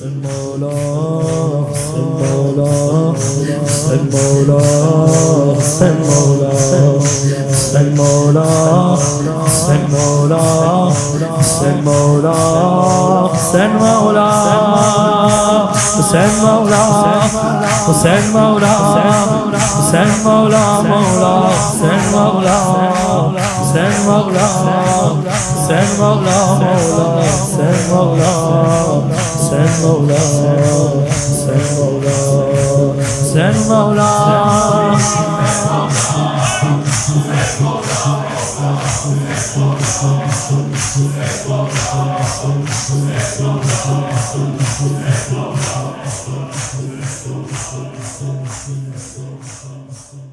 المولى المولى المولى المولى المولى المولى المولى حسين مولا حسين مولا حسين مولا حسين مولا مولا حسين مولا حسين مولا حسين مولا مولا حسين مولا حسين مولا حسين مولا حسين مولا Thank you.